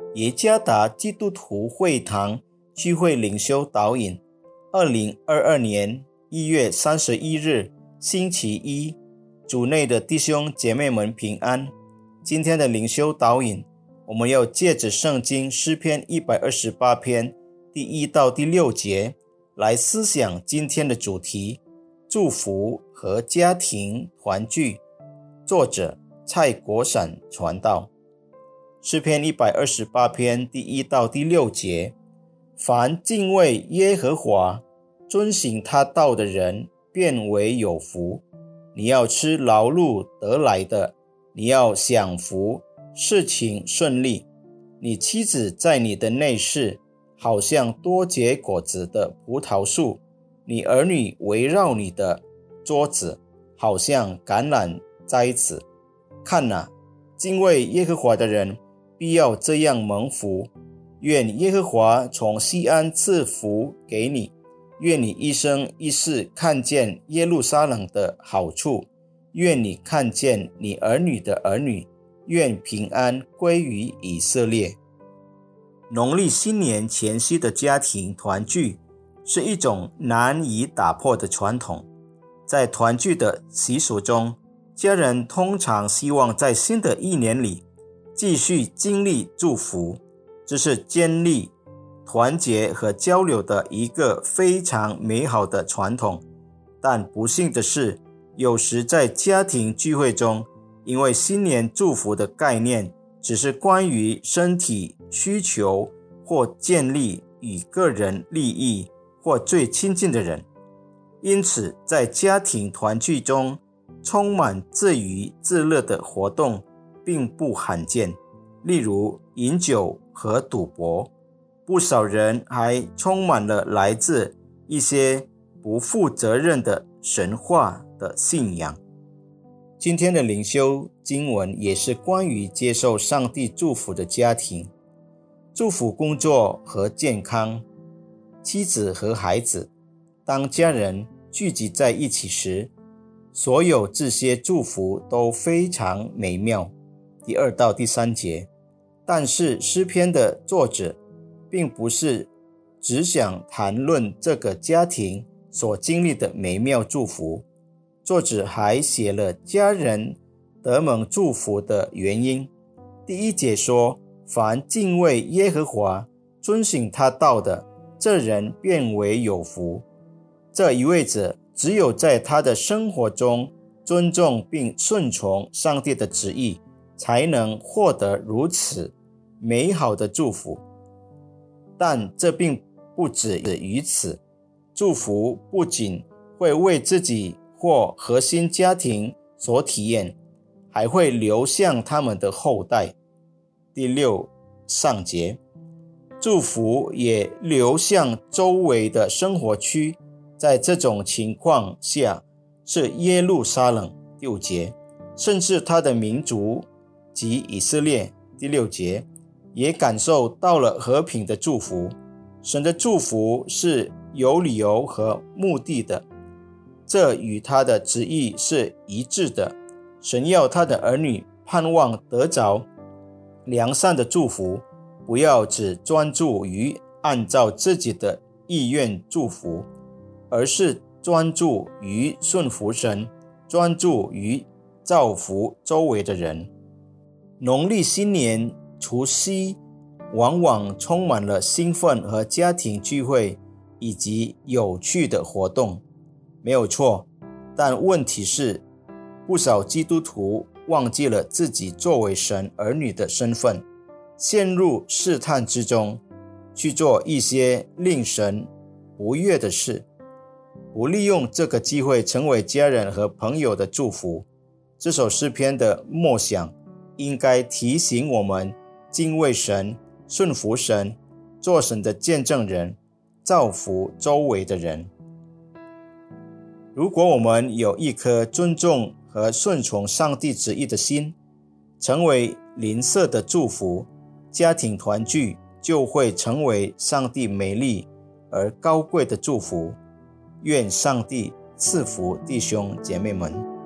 耶加达基督徒会堂聚会领袖导引2022年1月31日星期一，主内的弟兄姐妹们平安。今天的领袖导引，我们要借着圣经诗篇128篇第1到第6节来思想今天的主题：祝福和家庭团聚。作者蔡国闪传道。诗篇128篇第1到第6节：凡敬畏耶和华，遵行他道的人，便为有福。你要吃劳碌得来的，你要享福，事情顺利。你妻子在你的内室，好像多结果子的葡萄树；你儿女围绕你的桌子，好像橄榄栽子。看哪，敬畏耶和华的人必要这样蒙福。愿耶和华从西安赐福给你，愿你一生一世看见耶路撒冷的好处，愿你看见你儿女的儿女，愿平安归于以色列。农历新年前夕的家庭团聚是一种难以打破的传统。在团聚的习俗中，家人通常希望在新的一年里继续经历祝福，这是建立团结和交流的一个非常美好的传统。但不幸的是，有时在家庭聚会中，因为新年祝福的概念只是关于身体需求或建立与个人利益或最亲近的人，因此在家庭团聚中充满自娱自乐的活动并不罕见，例如饮酒和赌博。不少人还充满了来自一些不负责任的神话的信仰。今天的灵修经文也是关于接受上帝祝福的家庭，祝福工作和健康，妻子和孩子。当家人聚集在一起时，所有这些祝福都非常美妙。第2到第3节。但是诗篇的作者并不是只想谈论这个家庭所经历的美妙祝福，作者还写了家人得蒙祝福的原因。第1节说，凡敬畏耶和华，遵行他道的，这人便为有福。这意味着只有在他的生活中尊重并顺从上帝的旨意，才能获得如此美好的祝福。但这并不止于此，祝福不仅会为自己或核心家庭所体验，还会流向他们的后代。第6上节，祝福也流向周围的生活区，在这种情况下是耶路撒冷。第5节，甚至他的民族及以色列。第6节，也感受到了和平的祝福。神的祝福是有理由和目的的，这与他的旨意是一致的。神要他的儿女盼望得着良善的祝福，不要只专注于按照自己的意愿祝福，而是专注于顺服神，专注于造福周围的人。农历新年除夕往往充满了兴奋和家庭聚会以及有趣的活动，没有错。但问题是，不少基督徒忘记了自己作为神儿女的身份，陷入试探之中，去做一些令神不悦的事，不利用这个机会成为家人和朋友的祝福。这首诗篇的默想应该提醒我们敬畏神，顺服神，做神的见证人，造福周围的人。如果我们有一颗尊重和顺从上帝旨意的心，成为邻舍的祝福，家庭团聚就会成为上帝美丽而高贵的祝福。愿上帝赐福弟兄姐妹们。